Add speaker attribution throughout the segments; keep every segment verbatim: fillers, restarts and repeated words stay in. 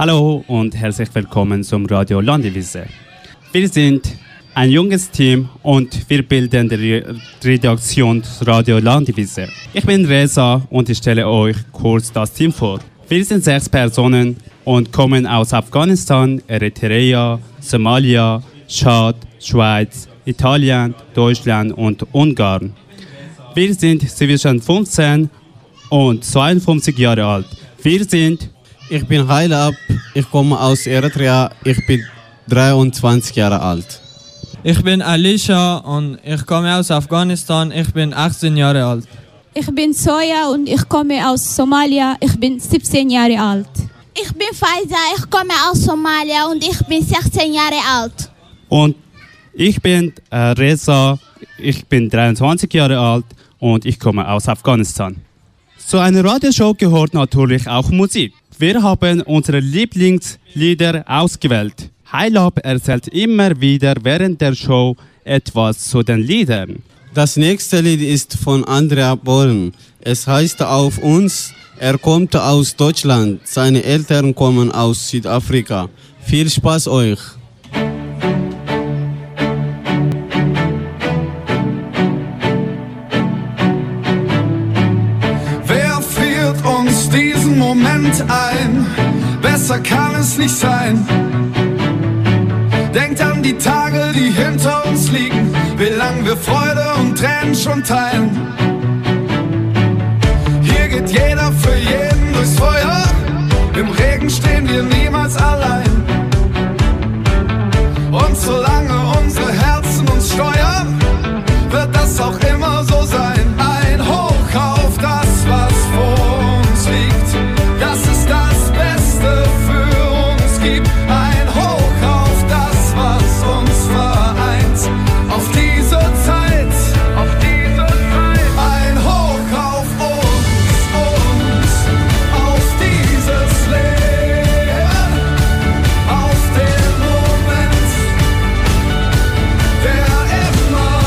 Speaker 1: Hallo und herzlich willkommen zum Radio Landivisier. Wir sind ein junges Team und wir bilden die Redaktion Radio Landivisier. Ich bin Reza und ich stelle euch kurz das Team vor. Wir sind sechs Personen und kommen aus Afghanistan, Eritrea, Somalia, Tschad, Schweiz, Italien, Deutschland und Ungarn. Wir sind zwischen fünfzehn und zweiundfünfzig Jahre alt. Wir sind
Speaker 2: Ich bin Hailab, ich komme aus Eritrea, ich bin dreiundzwanzig Jahre alt.
Speaker 3: Ich bin Alicia und ich komme aus Afghanistan, ich bin achtzehn Jahre alt.
Speaker 4: Ich bin Soja und ich komme aus Somalia, ich bin siebzehn Jahre alt.
Speaker 5: Ich bin Faiza, ich komme aus Somalia und ich bin sechzehn Jahre alt.
Speaker 1: Und ich bin äh, Reza, ich bin dreiundzwanzig Jahre alt und ich komme aus Afghanistan. Zu einer Radioshow gehört natürlich auch Musik. Wir haben unsere Lieblingslieder ausgewählt. Hailab erzählt immer wieder während der Show etwas zu den Liedern.
Speaker 2: Das nächste Lied ist von Andrea Born. Es heißt Auf uns. Er kommt aus Deutschland. Seine Eltern kommen aus Südafrika. Viel Spaß euch!
Speaker 6: Diesen Moment ein, besser kann es nicht sein. Denkt an die Tage, die hinter uns liegen, wie lang wir Freude und Tränen schon teilen. Hier geht jeder für jeden durchs Feuer, im Regen stehen wir niemals allein. Und solange unsere Herzen uns steuern, wird das auch immer so sein. Ein Hoch auf das, was vor uns liegt. Das ist das Beste für uns gibt. Ein Hoch auf das, was uns vereint. Auf diese Zeit, auf diese Zeit. Ein Hoch auf uns, uns, auf dieses Leben, auf den Moment, der immer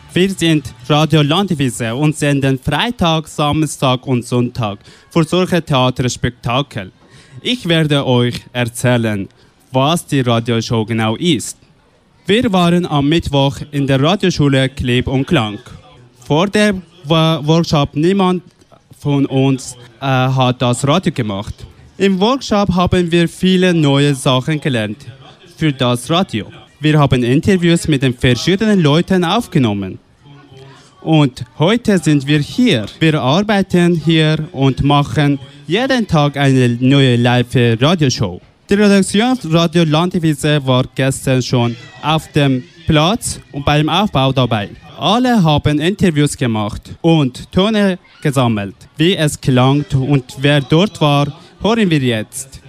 Speaker 1: Wir sind Radio Landivise und senden Freitag, Samstag und Sonntag für solche Theaterspektakel. Ich werde euch erzählen, was die Radioshow genau ist. Wir waren am Mittwoch in der Radioschule Klipp und Klang. Vor dem Workshop niemand von uns äh, hat das Radio gemacht. Im Workshop haben wir viele neue Sachen gelernt für das Radio. Wir haben Interviews mit den verschiedenen Leuten aufgenommen. Und heute sind wir hier. Wir arbeiten hier und machen jeden Tag eine neue Live-Radioshow. Die Redaktion Radio Landivise war gestern schon auf dem Platz und beim Aufbau dabei. Alle haben Interviews gemacht und Töne gesammelt. Wie es klang und wer dort war, hören wir jetzt.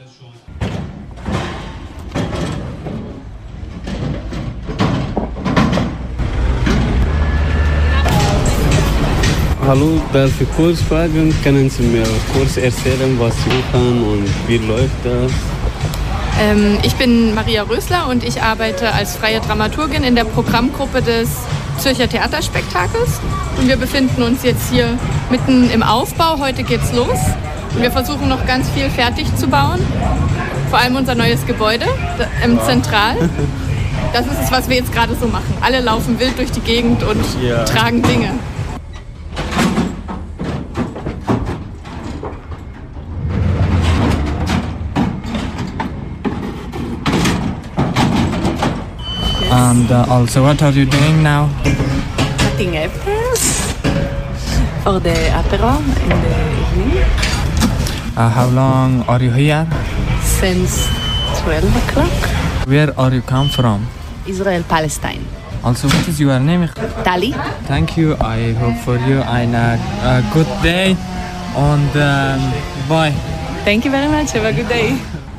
Speaker 2: Hallo, darf ich kurz fragen? Können Sie mir kurz erzählen, was Sie machen und wie läuft das?
Speaker 7: Ähm, ich bin Maria Rösler und ich arbeite als freie Dramaturgin in der Programmgruppe des Zürcher Theaterspektakels. Und wir befinden uns jetzt hier mitten im Aufbau. Heute geht's los. Und wir versuchen noch ganz viel fertig zu bauen. Vor allem unser neues Gebäude im ja. Zentral. Das ist es, was wir jetzt gerade so machen. Alle laufen wild durch die Gegend und ja. tragen Dinge.
Speaker 3: And uh, also, what are you doing now?
Speaker 8: Cutting apples for the apéro in the evening.
Speaker 3: Uh, how long are you here?
Speaker 8: Since twelve o'clock.
Speaker 3: Where are you come from?
Speaker 8: Israel, Palestine.
Speaker 3: Also, what is your name?
Speaker 8: Tali.
Speaker 3: Thank you. I hope for you a uh, good day and um, bye.
Speaker 8: Thank you very much. Have a good day.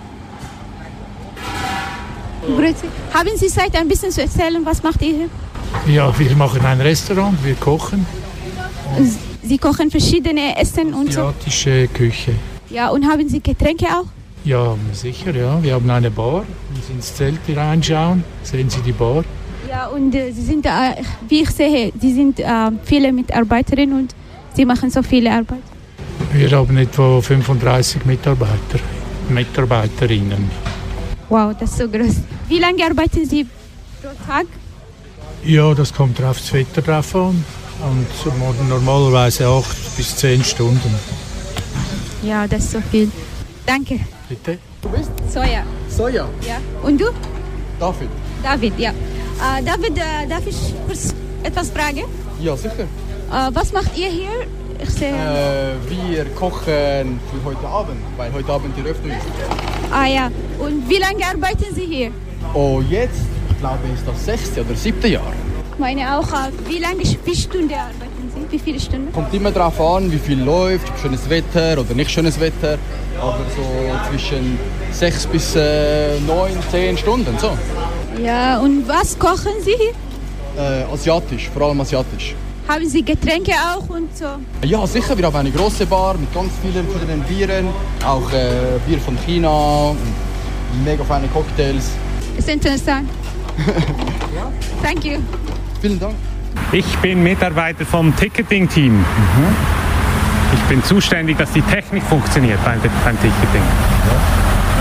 Speaker 4: Grüezi. Haben Sie Zeit, ein bisschen zu erzählen, was macht ihr hier?
Speaker 9: Ja, wir machen ein Restaurant, wir kochen.
Speaker 4: Sie kochen verschiedene Essen und so?
Speaker 9: Asiatische Küche.
Speaker 4: Ja, und haben Sie Getränke auch?
Speaker 9: Ja, sicher, ja. Wir haben eine Bar. Wenn Sie ins Zelt reinschauen, sehen Sie die Bar.
Speaker 4: Ja, und äh, Sie sind, äh, wie ich sehe, Sie sind äh, viele Mitarbeiterinnen und Sie machen so viele Arbeit.
Speaker 9: Wir haben etwa fünfunddreißig Mitarbeiter, Mitarbeiterinnen.
Speaker 4: Wow, das ist so groß. Wie lange arbeiten Sie pro Tag?
Speaker 9: Ja, das kommt auf das Wetter drauf an. Und normalerweise acht bis zehn Stunden.
Speaker 4: Ja, das ist so viel. Danke.
Speaker 9: Bitte?
Speaker 10: Du bist?
Speaker 4: Soja.
Speaker 10: Soja?
Speaker 4: Ja. Und du?
Speaker 10: David.
Speaker 4: David, ja. Äh, David, äh, darf ich kurz etwas fragen?
Speaker 10: Ja, sicher.
Speaker 4: Äh, was macht ihr hier? Ich sehe...
Speaker 10: Äh, wir kochen für heute Abend, weil heute Abend die Eröffnung ist.
Speaker 4: Ah ja. Und wie lange arbeiten Sie hier?
Speaker 10: Oh, jetzt, ich glaube, ist das sechste oder siebte Jahr.
Speaker 4: Ich meine auch, wie lange, wie Stunden arbeiten Sie? Wie viele Stunden?
Speaker 10: Kommt immer darauf an, wie viel läuft, ob schönes Wetter oder nicht schönes Wetter. Aber so zwischen sechs bis äh, neun, zehn Stunden, so.
Speaker 4: Ja, und was kochen Sie hier?
Speaker 10: Äh, asiatisch, vor allem asiatisch.
Speaker 4: Haben Sie Getränke auch und so?
Speaker 10: Ja, sicher. Wir haben eine große Bar mit ganz vielen verschiedenen Bieren. Auch äh, Bier von China und mega feine Cocktails.
Speaker 4: Ist interessant. Ja. Thank you.
Speaker 10: Vielen Dank.
Speaker 11: Ich bin Mitarbeiter vom Ticketing-Team. Mhm. Ich bin zuständig, dass die Technik funktioniert beim, beim Ticketing. Ja.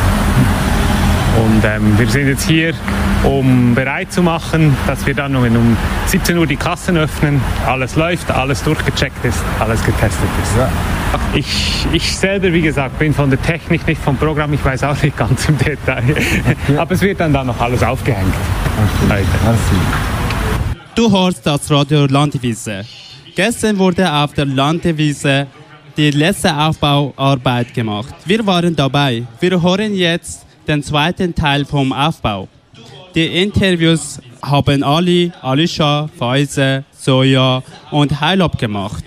Speaker 11: Und ähm, wir sind jetzt hier, um bereit zu machen, dass wir dann um siebzehn Uhr die Kassen öffnen, alles läuft, alles durchgecheckt ist, alles getestet ist. Ja. Ich, ich selber, wie gesagt, bin von der Technik, nicht vom Programm, ich weiß auch nicht ganz im Detail. Okay. Aber es wird dann da noch alles aufgehängt. Okay.
Speaker 1: Du hörst das Radio Landivise. Gestern wurde auf der Landivise die letzte Aufbauarbeit gemacht. Wir waren dabei. Wir hören jetzt den zweiten Teil vom Aufbau. Die Interviews haben Ali, Alisha, Faize, Soja und Heilab gemacht.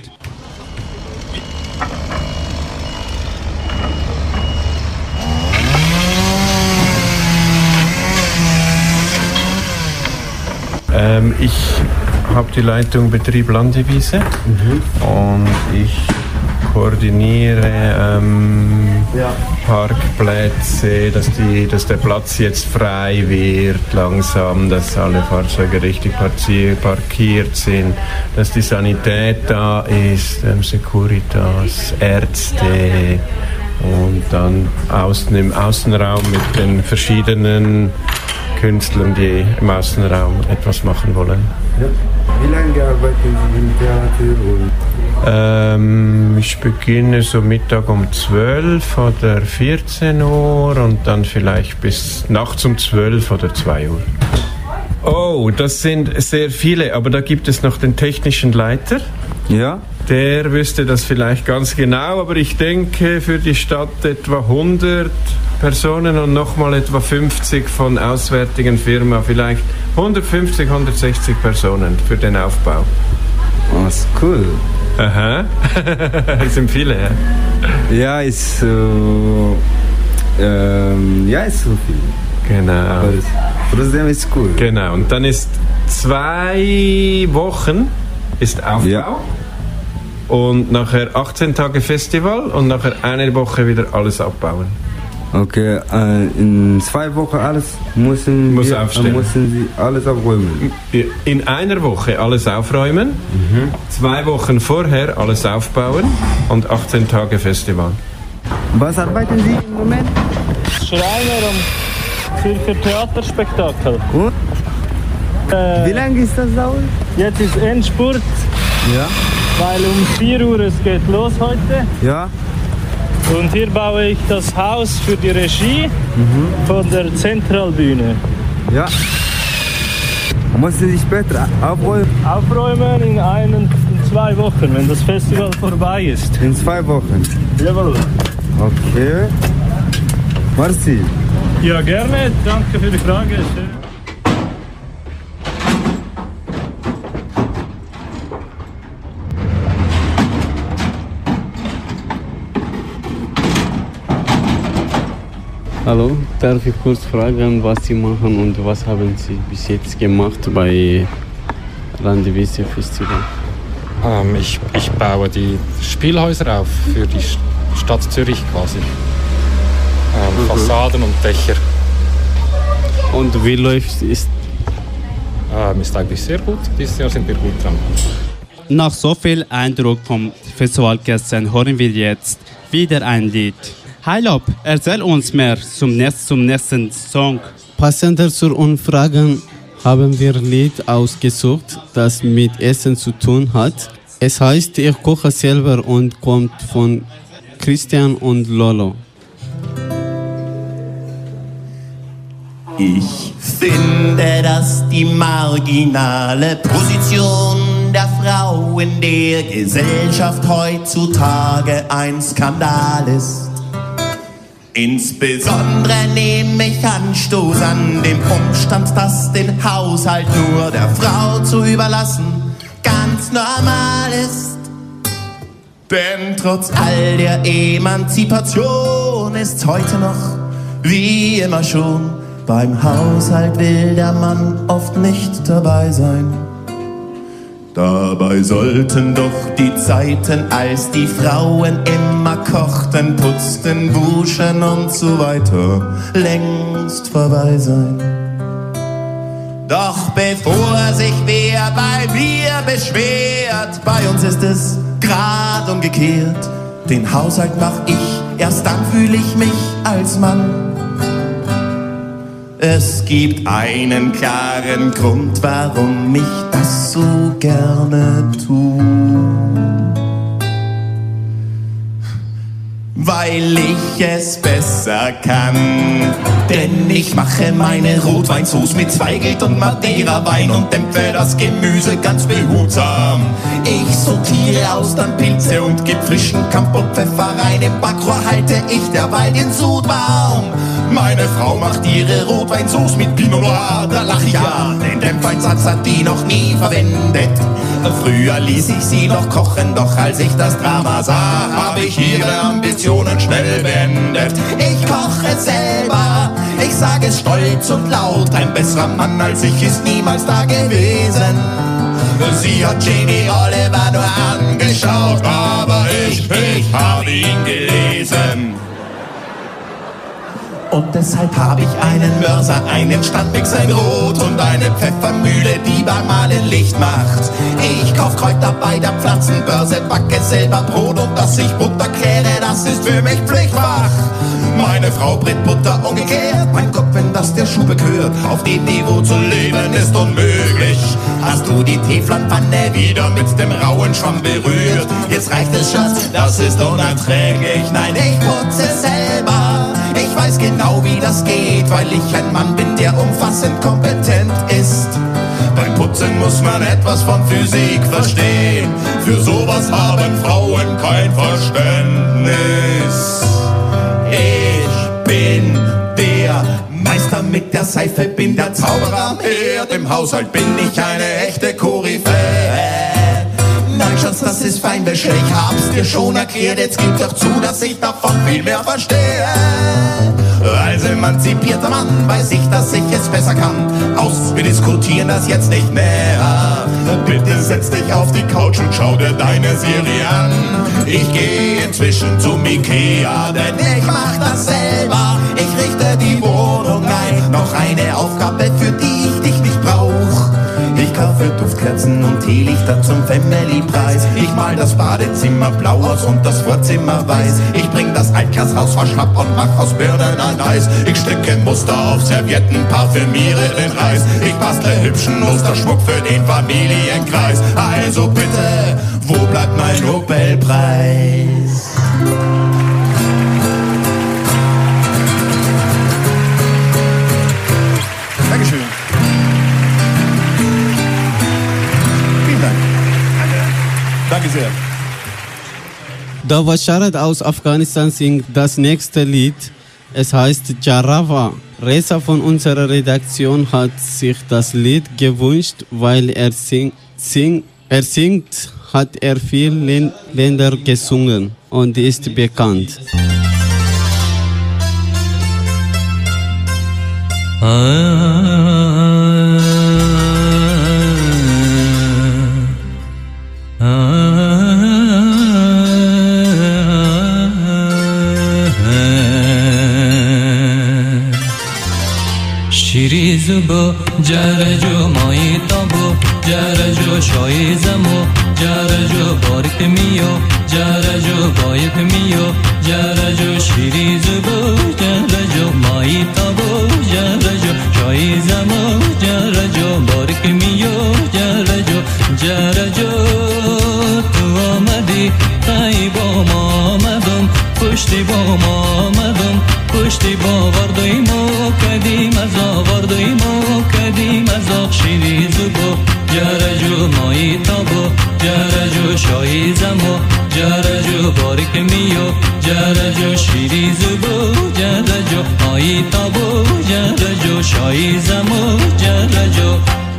Speaker 12: Ähm, ich habe die Leitung Betrieb Landivise mhm. und ich koordiniere ähm,
Speaker 13: ja.
Speaker 12: Parkplätze, dass, die, dass der Platz jetzt frei wird langsam, dass alle Fahrzeuge richtig parkiert sind, dass die Sanität da ist, ähm, Securitas, Ärzte und dann außen im Außenraum mit den verschiedenen Künstlern, die im Außenraum etwas machen wollen.
Speaker 13: Ja. Wie lange arbeiten Sie im Theater? Und
Speaker 12: ähm, ich beginne so Mittag um zwölf oder vierzehn Uhr und dann vielleicht bis nachts um zwölf oder zwei Uhr. Oh, das sind sehr viele, aber da gibt es noch den technischen Leiter.
Speaker 13: Ja.
Speaker 12: Der wüsste das vielleicht ganz genau, aber ich denke für die Stadt etwa hundert Personen und nochmal etwa fünfzig von auswärtigen Firmen, vielleicht hundertfünfzig, hundertsechzig Personen für den Aufbau.
Speaker 13: Oh, ist cool.
Speaker 12: Aha, das sind viele, ja?
Speaker 13: Ja, ist so, ähm, ja, ist so viel.
Speaker 12: Genau.
Speaker 13: Aber trotzdem ist cool.
Speaker 12: Genau, und dann ist zwei Wochen ist Aufbau. Ja. Und nachher achtzehn Tage Festival und nachher eine Woche wieder alles abbauen.
Speaker 13: Okay, äh, in zwei Wochen alles müssen,
Speaker 12: Muss
Speaker 13: wir,
Speaker 12: aufstellen.
Speaker 13: müssen Sie alles aufräumen?
Speaker 12: In einer Woche alles aufräumen, mhm. zwei Wochen vorher alles aufbauen und achtzehn Tage Festival.
Speaker 13: Was arbeiten Sie im Moment?
Speaker 14: Schreiner am Zürcher Theaterspektakel.
Speaker 13: Und?
Speaker 14: Äh,
Speaker 13: Wie lange ist das dauert?
Speaker 14: Jetzt ist Endspurt.
Speaker 13: Ja.
Speaker 14: Weil um vier Uhr es geht los heute.
Speaker 13: Ja.
Speaker 14: Und hier baue ich das Haus für die Regie mhm. von der Zentralbühne.
Speaker 13: Ja. Müssen Sie später aufräumen?
Speaker 14: Aufräumen in ein, in zwei Wochen, wenn das Festival vorbei ist.
Speaker 13: In zwei Wochen?
Speaker 14: Jawohl.
Speaker 13: Okay. Merci.
Speaker 14: Ja, gerne. Danke für die Frage.
Speaker 2: Hallo, darf ich kurz fragen, was Sie machen und was haben Sie bis jetzt gemacht bei Landivisier Festival?
Speaker 15: Ähm, ich, ich baue die Spielhäuser auf für die Stadt Zürich quasi. Ähm, mhm. Fassaden und Dächer.
Speaker 2: Und wie läuft es?
Speaker 15: Ähm, ist eigentlich sehr gut. Dieses Jahr sind wir gut dran.
Speaker 1: Nach so viel Eindruck vom Festival gestern hören wir jetzt wieder ein Lied. Heilob, erzähl uns mehr zum, nächsten, zum nächsten Song.
Speaker 2: Passender zur Umfrage haben wir ein Lied ausgesucht, das mit Essen zu tun hat. Es heißt Ich koche selber und kommt von Christian und Lolo.
Speaker 16: Ich finde, dass die marginale Position der Frau in der Gesellschaft heutzutage ein Skandal ist. Insbesondere nehme ich Anstoß an dem Umstand, dass den Haushalt nur der Frau zu überlassen ganz normal ist. Denn trotz all der Emanzipation ist's heute noch, wie immer schon, beim Haushalt will der Mann oft nicht dabei sein. Dabei sollten doch die Zeiten, als die Frauen immer kochten, putzten, wuschen und so weiter, längst vorbei sein. Doch bevor sich wer bei mir beschwert, bei uns ist es grad umgekehrt. Den Haushalt mach ich, erst dann fühle ich mich als Mann. Es gibt einen klaren Grund, warum ich das so gerne tue. Weil ich es besser kann. Denn ich mache meine Rotweinsauce mit Zweigelt und Madeira-Wein und dämpfe das Gemüse ganz behutsam. Ich sortiere aus dann Pilze und geb frischen Kampotpfeffer rein. Im Backrohr halte ich derweil den Sudbaum. Meine Frau macht ihre Rotweinsauce mit Pinot Noir, da lach ich ja, den Dämpfeinsatz hat die noch nie verwendet. Früher ließ ich sie noch kochen, doch als ich das Drama sah, habe ich ihre Ambitionen schnell beendet. Ich koche selber, ich sage es stolz und laut, ein besserer Mann als ich ist niemals da gewesen. Sie hat Jamie Oliver nur angeschaut, aber ich, ich habe ihn gelesen. Und deshalb habe ich einen Mörser, einen Standmix, ein Rot und eine Pfeffermühle, die beim Malen Licht macht. Ich kauf Kräuter bei der Pflanzenbörse, backe selber Brot und dass ich Butter kehre, das ist für mich Pflichtfach. Meine Frau brät Butter umgekehrt, mein Gott, wenn das der Schuh bekürt. Auf dem Niveau zu leben ist unmöglich. Hast du die Teflonpfanne wieder mit dem rauen Schwamm berührt? Jetzt reicht es, Schatz, das ist unerträglich. Nein, ich putze selber. Ich weiß genau, wie das geht, weil ich ein Mann bin, der umfassend kompetent ist. Beim Putzen muss man etwas von Physik verstehen. Für sowas haben Frauen kein Verständnis. Ich bin der Meister mit der Seife, bin der Zauberer am Herd. Im Haushalt bin ich eine echte Koryphäe. Nein, Schatz, das ist Feinwäsche, ich hab's dir schon erklärt. Jetzt gib doch zu, dass ich davon viel mehr verstehe. Als emanzipierter Mann weiß ich, dass ich es besser kann. Aus, wir diskutieren das jetzt nicht mehr. Bitte setz dich auf die Couch und schau dir deine Serie an. Ich gehe inzwischen zum Ikea, denn ich mach das selber. Ich richte die Wohnung ein. Noch eine Aufgabe, für die ich dich nicht brauch. Ich kaufe Duftkerzen und Teelichter zum Family-Preis. Ich mal das Badezimmer blau aus und das Vorzimmer weiß. Ich bring das Altglashaus verschnapp und mach aus Birnen ein Eis. Ich stecke Muster auf Servietten, parfümiere den Reis. Ich bastle hübschen Musterschmuck für den Familienkreis. Also bitte, wo bleibt mein Nobelpreis? Dankeschön. Danke sehr.
Speaker 2: Dawa Sharad aus Afghanistan singt das nächste Lied. Es heißt Jarawa. Reza von unserer Redaktion hat sich das Lied gewünscht, weil er, sing, sing, er singt, hat er viele Länder gesungen und ist bekannt.
Speaker 17: شیری زبو جرجو مایی تابو جرجو شای زمو جرجو بارک میو جرجو بایک میو جرجو شیری زبو جرجو مایی تابو جرجو شای زمو جرجو بارک میو جرجو جرجو تو آمدی تای با ما آمدم پشتی با ما آمدم پشتی با وردایمو کدیم از آوردایمو کدیم از آق شیری زبو جرجو مایی تابو جرجو شایی زمو جرجو بارک میو جرجو شیری زبو جرجو مایی تابو جرجو شایی زمو جرجو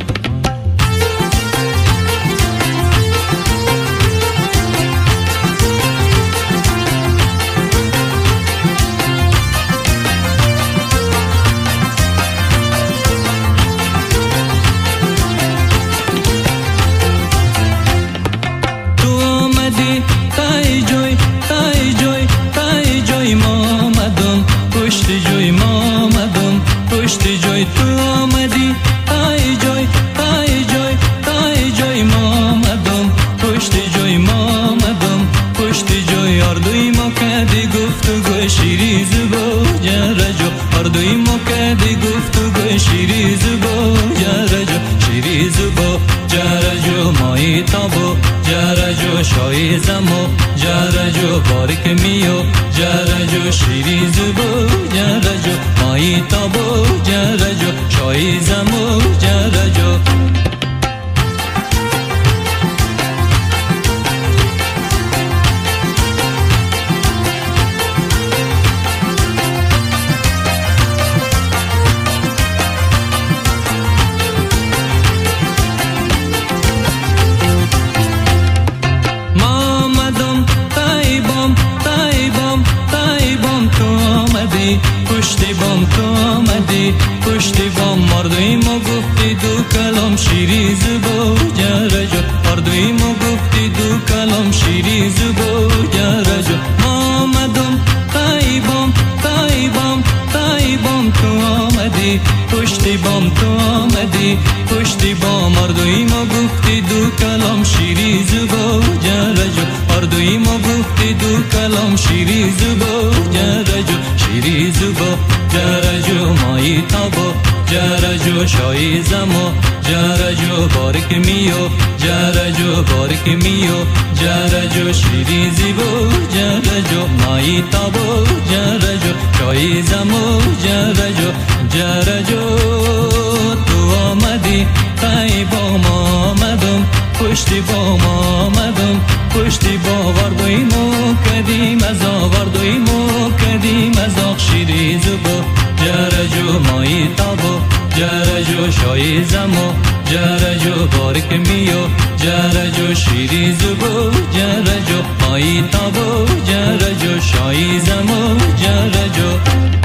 Speaker 17: شای زمو جرجو بارک میو جرجو شیری زبو جرجو مایی تابو جرجو شای زمو جرجو پشتی بام تو آمدی پشتی با مردوی ما گفتی دو کلام شیری زبا جرجو مردوی ما گفتی دو کلام شیری زبا جرجو ما آمدم تایبام تایبام تایبام تو آمدی پشتی بام تو آمدی پشتی با مردوی ما گفتی دو کلام شیری زبا جرجو مردوی ما گفتی دو کلام شیری زبا جرجو شیری زبا جرجو مایی تابا جرجو شایی زما جرجو بارک میو جرجو بارک میو جرجو شیری زبا جرجو مایی تابا جرجو شایی زما جرجو جرجو تو آمدی خیبا ما آمدم پشتی با ما آمدم پشتی با وردوی ما کدیم از آوردوی ما کدیم از آخ شیری زبا جرجو مایی تابا جرجو شایی زما جرجو بارک میو جرجو شیری زبا جرجو مایی تابا جرجو شایی زما جرجو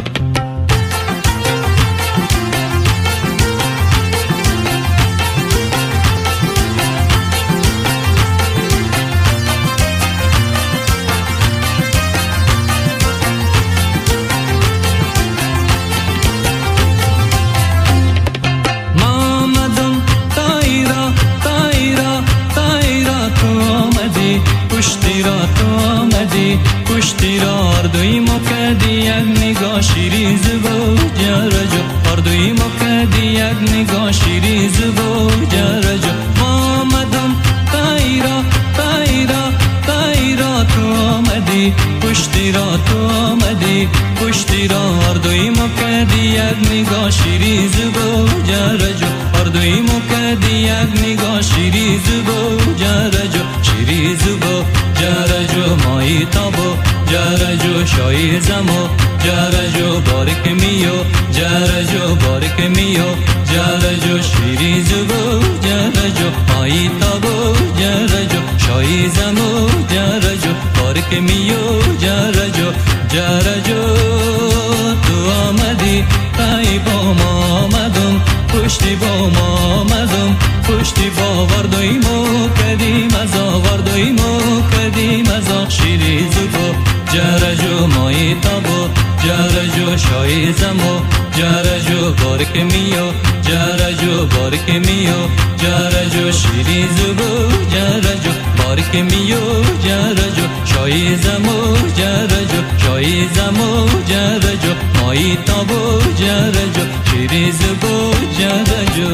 Speaker 17: پشتی را تو آمدی پشتی را اردوی ما کردی یک نگاه شیری زبا جرجو اردوی ما کردی یک نگاه شیری زبا جرجو ما آمدم تایرا تایرا تایرا تو آمدی پشتی را تو آمدی پشتی را اردوی ما کردی یک نگاه شیری زبا جرجو اردوی ما کردی یک نگاه شیری زبا جرجو شیری زبا جرجو مایی تابا جرجو شایی زما جرجو بارک میو جرجو بارک میو جرجو شیری زبا جرجو مایی تابا جرجو شایی زما جرجو بارک میو جرجو جرجو تو آمدی خیبا ما آمدم پشتی با ما آمدم پشتی با وردوی ما کدیم از آوردوی ما کدیم از آخ شیری زبا جرجو مایی تابا جرجو شایی زما جرجو بارک میو جرجو بارک میو جرجو شیری زبا جرجو بارک میو جرجو شایی زما جرجو شایی زما جرجو مایی تابا جرجو شیری زبا جرجو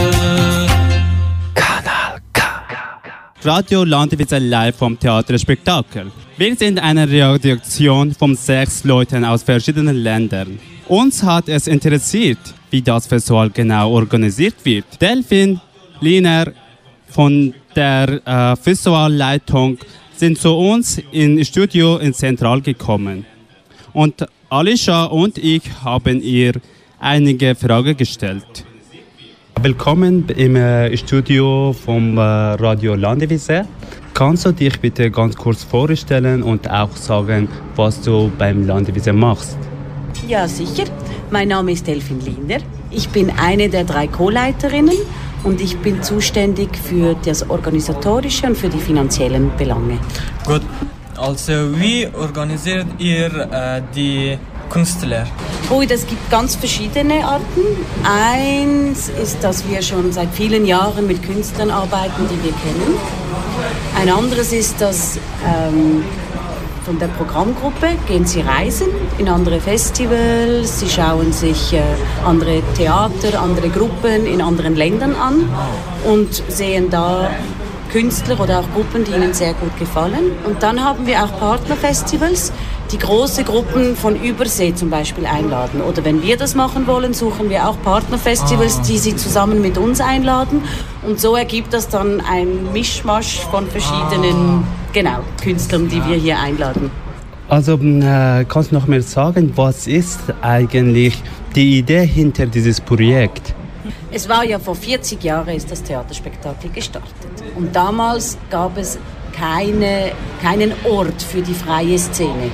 Speaker 1: Radio Landewitz live vom Theater Spektakel. Wir sind eine Redaktion von sechs Leuten aus verschiedenen Ländern. Uns hat es interessiert, wie das Festival genau organisiert wird. Delphine Liner von der äh, Festivalleitung sind zu uns ins Studio in Zentral gekommen. Und Alicia und ich haben ihr einige Fragen gestellt. Willkommen im äh, Studio vom äh, Radio Landewitz. Kannst du dich bitte ganz kurz vorstellen und auch sagen, was du beim Landewitz machst?
Speaker 18: Ja, sicher. Mein Name ist Delphine Liner. Ich bin eine der drei Co-Leiterinnen und ich bin zuständig für das Organisatorische und für die finanziellen Belange.
Speaker 3: Gut, also wie organisiert ihr äh, die Künstler?
Speaker 18: Oh, das gibt ganz verschiedene Arten. Eins ist, dass wir schon seit vielen Jahren mit Künstlern arbeiten, die wir kennen. Ein anderes ist, dass ähm, von der Programmgruppe gehen sie reisen in andere Festivals, sie schauen sich äh, andere Theater, andere Gruppen in anderen Ländern an und sehen da Künstler oder auch Gruppen, die ihnen sehr gut gefallen. Und dann haben wir auch Partnerfestivals, die große Gruppen von Übersee zum Beispiel einladen. Oder wenn wir das machen wollen, suchen wir auch Partnerfestivals, die sie zusammen mit uns einladen. Und so ergibt das dann ein Mischmasch von verschiedenen genau, Künstlern, die wir hier einladen.
Speaker 1: Also äh, kannst du noch mehr sagen, was ist eigentlich die Idee hinter dieses Projekt?
Speaker 18: Es war ja vor vierzig Jahren ist das Theaterspektakel gestartet. Und damals gab es keine, keinen Ort für die freie Szene.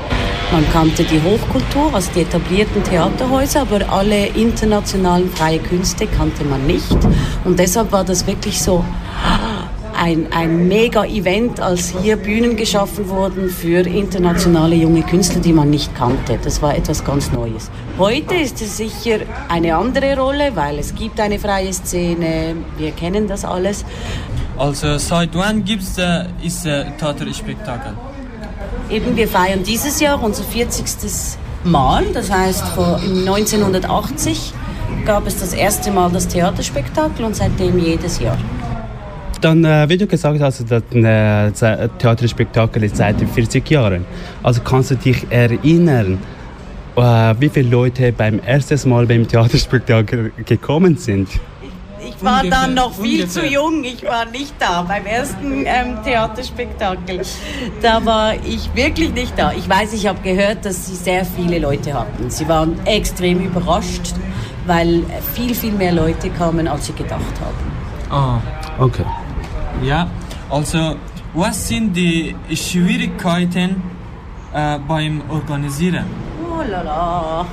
Speaker 18: Man kannte die Hochkultur, also die etablierten Theaterhäuser, aber alle internationalen freie Künste kannte man nicht. Und deshalb war das wirklich so ein, ein Mega-Event, als hier Bühnen geschaffen wurden für internationale junge Künstler, die man nicht kannte. Das war etwas ganz Neues. Heute ist es sicher eine andere Rolle, weil es gibt eine freie Szene, wir kennen das alles.
Speaker 3: Also seit wann gibt es äh, ist äh, Theaterspektakel?
Speaker 18: Eben, wir feiern dieses Jahr unser vierzigstes Mal, das heißt vor neunzehnhundertachtzig gab es das erste Mal das Theaterspektakel und seitdem jedes Jahr.
Speaker 1: Dann, äh, wie du gesagt hast, das äh, Theaterspektakel ist seit vierzig Jahren. Also kannst du dich erinnern, äh, wie viele Leute beim ersten Mal beim Theaterspektakel gekommen sind?
Speaker 18: Ich war ungefähr, dann noch viel
Speaker 3: ungefähr.
Speaker 18: zu jung, ich war nicht da beim ersten ähm, Theaterspektakel. Da war ich wirklich nicht da. Ich weiß, ich habe gehört, dass sie sehr viele Leute hatten. Sie waren extrem überrascht, weil viel, viel mehr Leute kamen, als sie gedacht haben.
Speaker 3: Ah,
Speaker 1: okay.
Speaker 3: Ja, also was sind die Schwierigkeiten äh, beim Organisieren?
Speaker 18: Oh la la.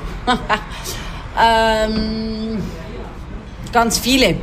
Speaker 18: ähm... Ganz viele.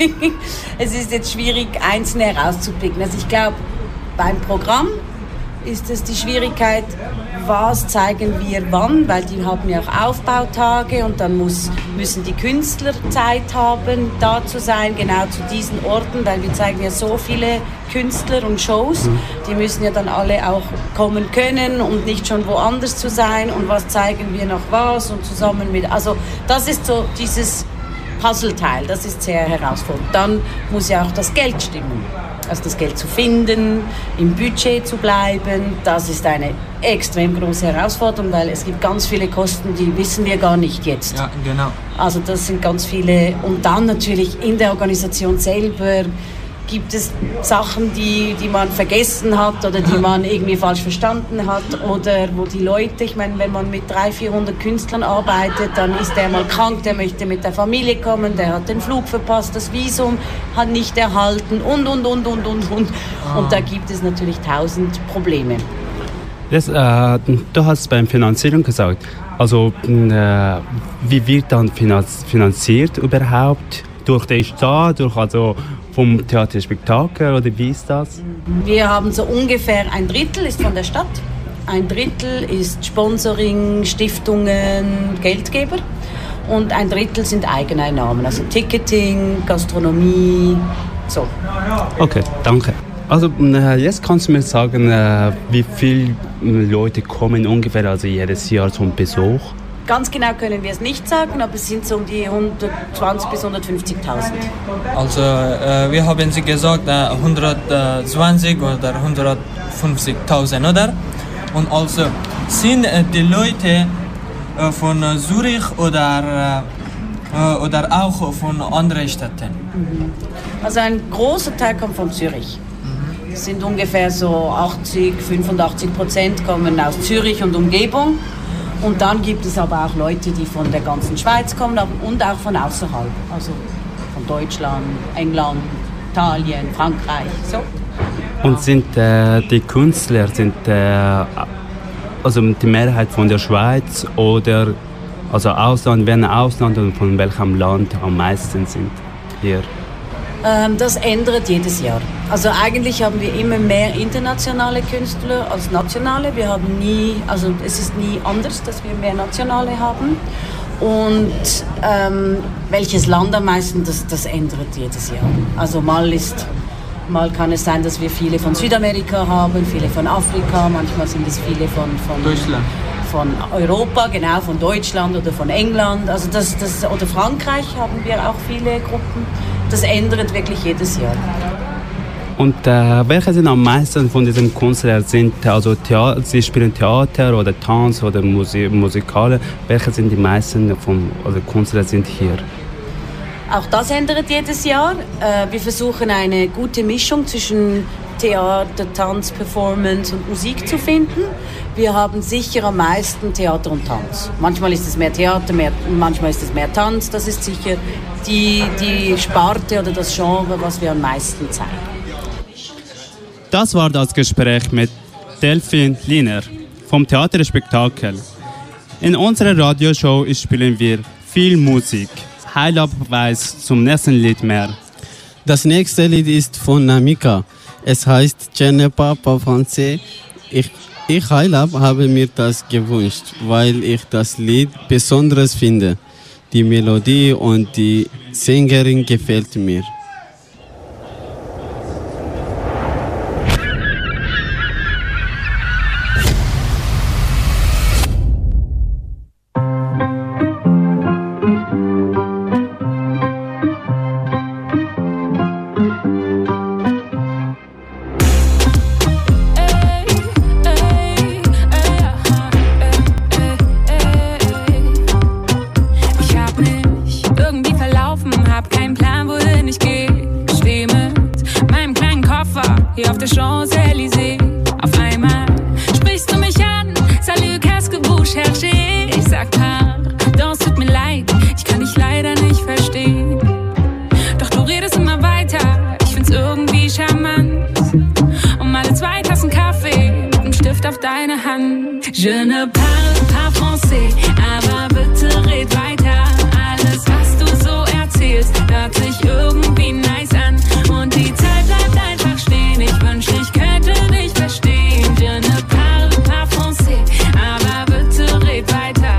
Speaker 18: Es ist jetzt schwierig, einzelne herauszupicken. Also ich glaube, beim Programm ist es die Schwierigkeit, was zeigen wir wann, weil die haben ja auch Aufbautage und dann muss, müssen die Künstler Zeit haben, da zu sein, genau zu diesen Orten, weil wir zeigen ja so viele Künstler und Shows, die müssen ja dann alle auch kommen können und nicht schon woanders zu sein und was zeigen wir noch was und zusammen mit, also das ist so dieses Puzzleteil, das ist sehr herausfordernd. Dann muss ja auch das Geld stimmen. Also das Geld zu finden, im Budget zu bleiben, das ist eine extrem große Herausforderung, weil es gibt ganz viele Kosten, die wissen wir gar nicht jetzt.
Speaker 3: Ja, genau.
Speaker 18: Also das sind ganz viele. Und dann natürlich in der Organisation selber gibt es Sachen, die, die man vergessen hat oder die man irgendwie falsch verstanden hat oder wo die Leute, ich meine, wenn man mit dreihundert, vierhundert Künstlern arbeitet, dann ist der mal krank, der möchte mit der Familie kommen, der hat den Flug verpasst, das Visum hat nicht erhalten und, und, und, und, und, und. Und da gibt es natürlich tausend Probleme.
Speaker 1: Das, äh, du hast beim Finanzierung gesagt, also äh, wie wird dann finanziert überhaupt? Durch den Staat, durch also vom Theaterspektakel oder wie ist das?
Speaker 18: Wir haben so ungefähr ein Drittel ist von der Stadt, ein Drittel ist Sponsoring, Stiftungen, Geldgeber und ein Drittel sind Eigeneinnahmen, also Ticketing, Gastronomie, so.
Speaker 1: Okay, danke. Also jetzt kannst du mir sagen, wie viele Leute kommen ungefähr also jedes Jahr zum Besuch?
Speaker 18: Ganz genau können wir es nicht sagen, aber es sind so um die hundertzwanzig bis hundertfünfzigtausend.
Speaker 3: Also äh, wir haben sie gesagt äh, hundertzwanzig oder hundertfünfzigtausend, oder? Und also sind äh, die Leute äh, von äh, Zürich oder, äh, oder auch von anderen Städten?
Speaker 18: Mhm. Also ein großer Teil kommt von Zürich. Mhm. Es sind ungefähr so achtzig, fünfundachtzig Prozent kommen aus Zürich und Umgebung. Und dann gibt es aber auch Leute, die von der ganzen Schweiz kommen und auch von außerhalb, also von Deutschland, England, Italien, Frankreich, so.
Speaker 1: Und sind äh, die Künstler, sind äh, also die Mehrheit von der Schweiz oder also Ausland, wenn Ausland und von welchem Land am meisten sind hier?
Speaker 18: Ähm, das ändert jedes Jahr. Also eigentlich haben wir immer mehr internationale Künstler als nationale. Wir haben nie, also es ist nie anders, dass wir mehr nationale haben. Und ähm, welches Land am meisten, das, das ändert jedes Jahr. Also mal ist, mal kann es sein, dass wir viele von Südamerika haben, viele von Afrika, manchmal sind es viele von, von
Speaker 3: Deutschland.
Speaker 18: Von Europa, genau, von Deutschland oder von England, also das, das, oder Frankreich haben wir auch viele Gruppen. Das ändert wirklich jedes Jahr.
Speaker 1: Und äh, welche sind am meisten von diesen Künstlern? Sind also Theater, sie spielen Theater oder Tanz oder Musik, Musikale? Welche sind die meisten von also Künstler sind hier?
Speaker 18: Auch das ändert jedes Jahr. Äh, wir versuchen eine gute Mischung zwischen Theater, Tanz, Performance und Musik zu finden. Wir haben sicher am meisten Theater und Tanz. Manchmal ist es mehr Theater, mehr, manchmal ist es mehr Tanz. Das ist sicher die, die Sparte oder das Genre, was wir am meisten zeigen.
Speaker 1: Das war das Gespräch mit Delphine Liner vom Theaterspektakel. In unserer Radioshow spielen wir viel Musik. Heilab weiß zum nächsten Lied mehr.
Speaker 2: Das nächste Lied ist von Namika. Es heißt Je ne parle pas français. Ich, ich Heilab habe mir das gewünscht, weil ich das Lied besonders finde. Die Melodie und die Sängerin gefällt mir.
Speaker 19: Je ne parle pas français, aber bitte red weiter. Alles, was du so erzählst, hört sich irgendwie nice an. Und die Zeit bleibt einfach stehen, ich wünschte, ich könnte dich verstehen. Je ne parle pas français, aber bitte red weiter.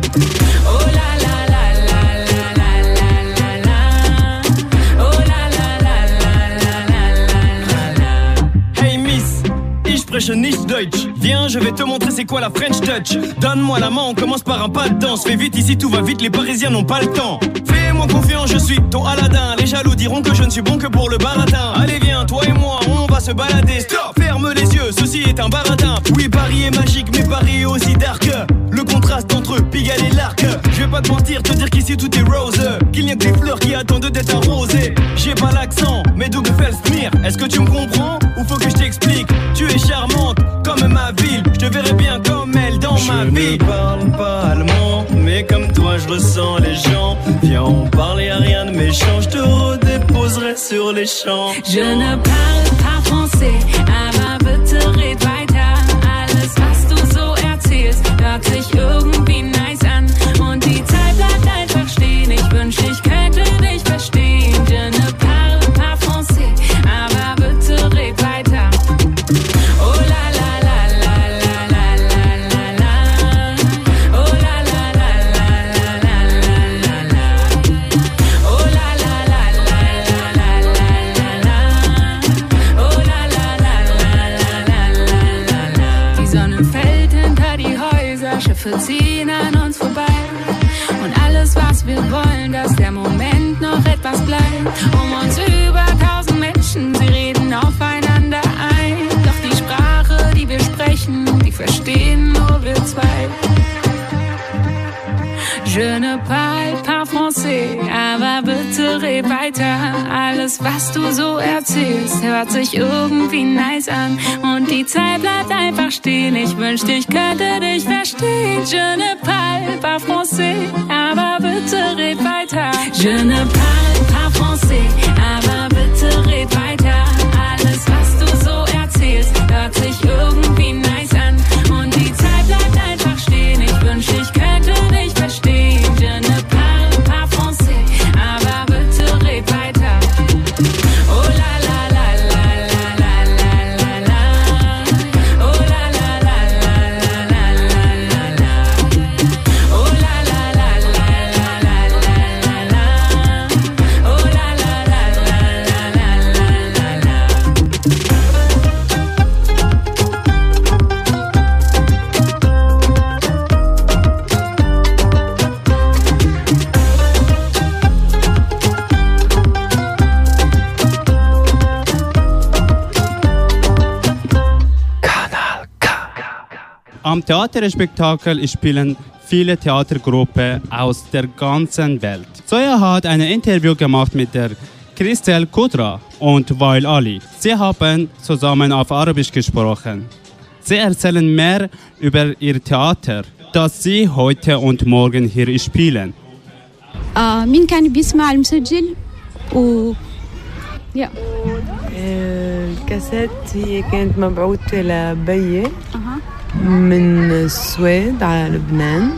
Speaker 19: Oh la la la la la la la la la. Oh la la la la la la la la.
Speaker 20: Hey Miss, ich spreche nicht Deutsch. Viens, je vais te montrer c'est quoi la French Touch. Donne-moi la main, on commence par un pas de danse. Fais vite ici, tout va vite, les Parisiens n'ont pas le temps. Fais-moi confiance, je suis ton Aladdin. Les jaloux diront que je ne suis bon que pour le baratin. Allez viens, toi et moi, on va se balader. Stop, ferme les yeux, ceci est un baratin. Oui, Paris est magique, mais Paris est aussi dark. Le contraste entre Pigalle et l'Arc. Je vais pas te mentir, te dire qu'ici tout est rose. Qu'il n'y a que des fleurs qui attendent d'être arrosées. J'ai pas l'accent, mais d'où me fait le smear. Est-ce que tu me comprends ou faut que je t'explique? Tu es charmante comme ma ville, je te verrai bien comme elle dans je ma vie. Je ne parle pas allemand, mais comme toi je ressens les gens. Viens, on parle et à rien de méchant, je te redéposerai sur les champs.
Speaker 19: Je ne parle pas français, aber bitte red weiter. Alles, was du so erzählst, hört sich irgendwie nice an. Und die Zeit bleibt einfach stehen, ich wünschte, ich könnte dich verstehen. Je ne parle pas français, aber bitte red weiter. Oh la la la la la la la la la. Oh la la la la la la la la la. Oh la la la la la la la la. Oh la la la la la la la la. Die Sonne fällt hinter die Häuser, Schiffe ziehen an uns vorbei. Und alles, was wir wollen, dass der Moment noch etwas bleibt. Um uns über tausend Menschen, sie reden aufeinander ein. Doch die Sprache, die wir sprechen, die verstehen nur wir zwei. Je ne parle pas français, aber bitte red weiter. Alles, was du so erzählst, hört sich irgendwie nice an. Und die Zeit bleibt einfach stehen, ich wünschte, ich könnte dich verstehen. Je ne parle pas français, aber bitte red weiter. Je ne parle pas français, aber bitte red weiter. Alles, was du so erzählst, hört sich irgendwie nice an. Und die Zeit bleibt einfach stehen, ich wünschte, ich könnte dich verstehen. Je ne parle pas français, aber bitte red weiter. Oh la la la la la la la la la. Oh la la la la la la la la la. Oh la la la la la la la la. Oh la la la la la la la la.
Speaker 1: Am Theaterspektakel spielen viele Theatergruppen aus der ganzen Welt. Zoya hat ein Interview gemacht mit der Christel Kudra und Wael Ali. Sie haben zusammen auf Arabisch gesprochen. Sie erzählen mehr über ihr Theater, das sie heute und morgen hier spielen.
Speaker 4: آه مين كان بيسمع المسجل و يا
Speaker 21: الكاسيت هي كانت مبعوثة لبيي من السويد على لبنان.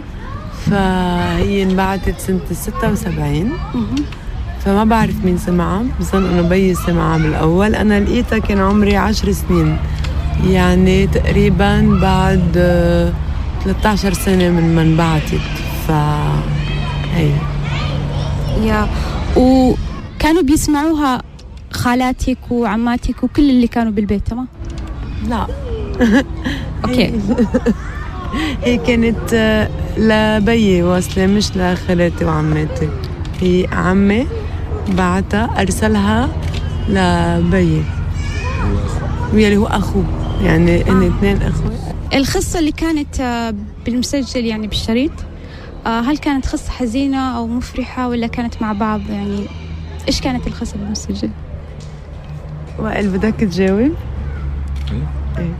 Speaker 21: فهي انبعثت سنة ستة وسبعين. فما بعرف مين سمعها، بظن انه بيي سمعها بالاول. انا لقيتها كان عمري عشر سنين، يعني تقريبا بعد ثلاثة عشر سنة من ما انبعثت. ف هي
Speaker 4: يا وكانوا بيسمعوها خالاتك وعماتك وكل اللي كانوا بالبيت تمام؟
Speaker 21: لا.
Speaker 4: اوكي.
Speaker 21: هي كانت لبيي واصلة مش لخالاتي وعماتي. هي عمي بعتها أرسلها لبيي واللي هو أخوه، يعني إن اثنين أخوة.
Speaker 4: القصة اللي كانت بالمسجل يعني بالشريط، هل كانت قصة حزينة أو مفرحة ولا كانت مع بعض؟ يعني إيش كانت القصة بالمسجل؟
Speaker 21: وائل بدك تجاوب؟
Speaker 22: إيه.